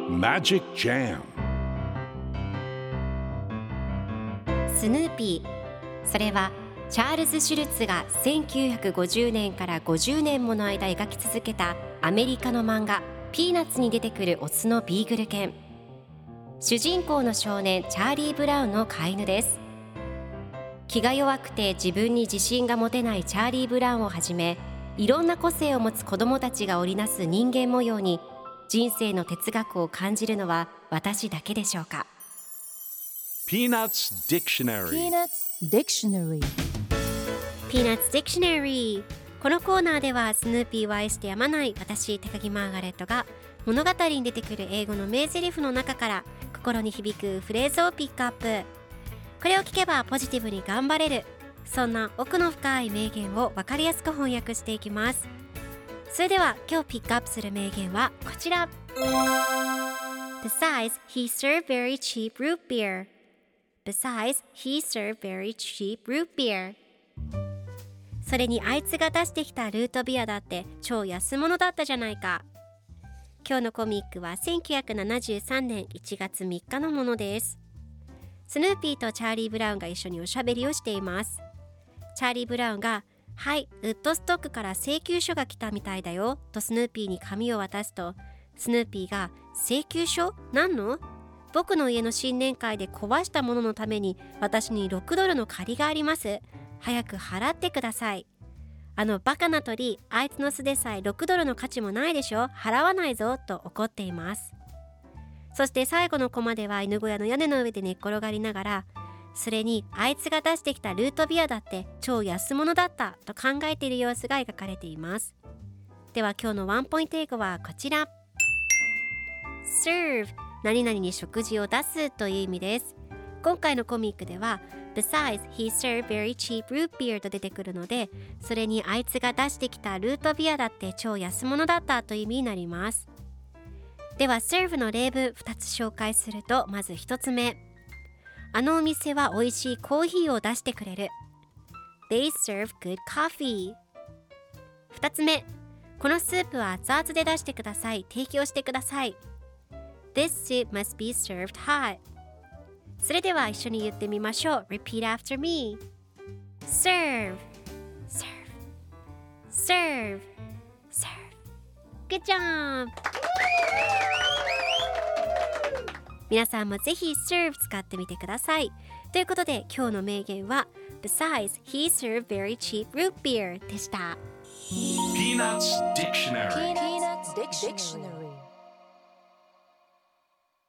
Magic Jam スヌーピー、それはチャールズ・シュルツが1950年から50年もの間描き続けたアメリカの漫画ピーナッツに出てくるオスのビーグル犬。主人公の少年チャーリー・ブラウンの飼い犬です。気が弱くて自分に自信が持てないチャーリー・ブラウンをはじめ、いろんな個性を持つ子どもたちが織りなす人間模様に人生の哲学を感じるのは私だけでしょうか。 Peanuts Dictionary Peanuts Dictionary Peanuts Dictionary。 このコーナーではスヌーピーを愛してやまない私高木マーガレットが物語に出てくる英語の名台詞の中から心に響くフレーズをピックアップ。これを聞けばポジティブに頑張れる、そんな奥の深い名言を分かりやすく翻訳していきます。それでは今日ピックアップする名言はこちら。 Besides, he served very cheap root beer. Besides, he served very cheap root beer. それにあいつが出してきたルートビアだって超安物だったじゃないか。今日のコミックは1973年1月3日のものです。スヌーピーとチャーリー・ブラウンが一緒におしゃべりをしています。チャーリー・ブラウンが、はい、ウッドストックから請求書が来たみたいだよとスヌーピーに紙を渡すと、スヌーピーが、請求書？何の？僕の家の新年会で壊したもののために私に6ドルの借りがあります。早く払ってください。あのバカな鳥、あいつの巣でさえ6ドルの価値もないでしょ、払わないぞと怒っています。そして最後のコマでは犬小屋の屋根の上で寝っ転がりながら、それにあいつが出してきたルートビアだって超安物だったと考えている様子が描かれています。では今日のワンポイント英語はこちら。 Serve、 何々に食事を出すという意味です。今回のコミックでは Besides, he served very cheap root beer と出てくるので、それにあいつが出してきたルートビアだって超安物だったという意味になります。では serve の例文2つ紹介すると、まず1つ目、あのお店は美味しいコーヒーを出してくれる。 They serve good coffee。 2つ目、このスープは熱々で出してください、提供してください。 This soup must be served hot。 それでは一緒に言ってみましょう。 Repeat after me。 Serve Serve Serve Serve。 Good job。皆さんもぜひ serve 使ってみてください。ということで今日の名言は Besides, he served very cheap root beer でした。 Peanuts Dictionary Peanuts Dictionary